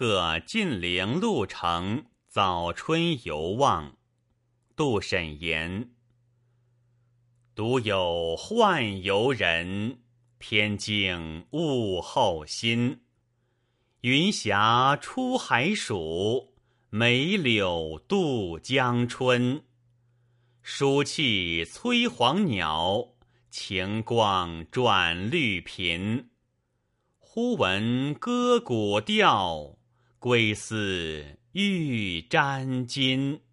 客晋陵鹿城，早春游望。杜审言：独有宦游人，偏敬物候心。云霞出海曙，梅柳渡江春。暑气催黄鸟，晴光转绿频。忽闻歌鼓调，归思欲沾巾。